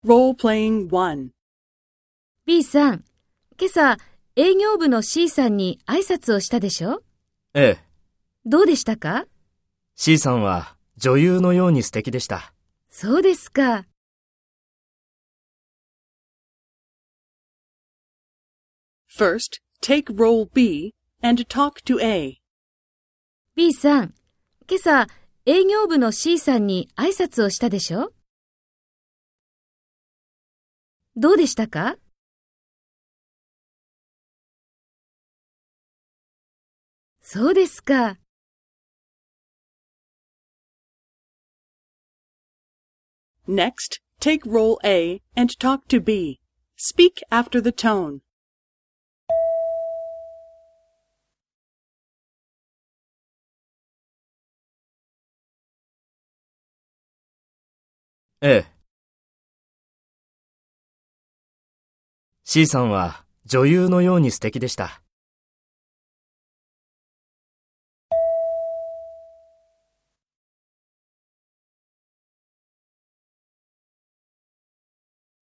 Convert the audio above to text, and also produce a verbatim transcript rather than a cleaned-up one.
Role-playing one. B さん、今朝営業部の C さんに挨拶をしたでしょ？ ええ。 どうでしたか？ C さんは女優のように素敵でした。 そうですか。 First, take role B and talk to A. B さん、今朝営業部の C さんに挨拶をしたでしょ？どうでしたか？そうですか。 Next, take role A and talk to B. Speak after the tone. ええ。C さんは女優のように素敵でした。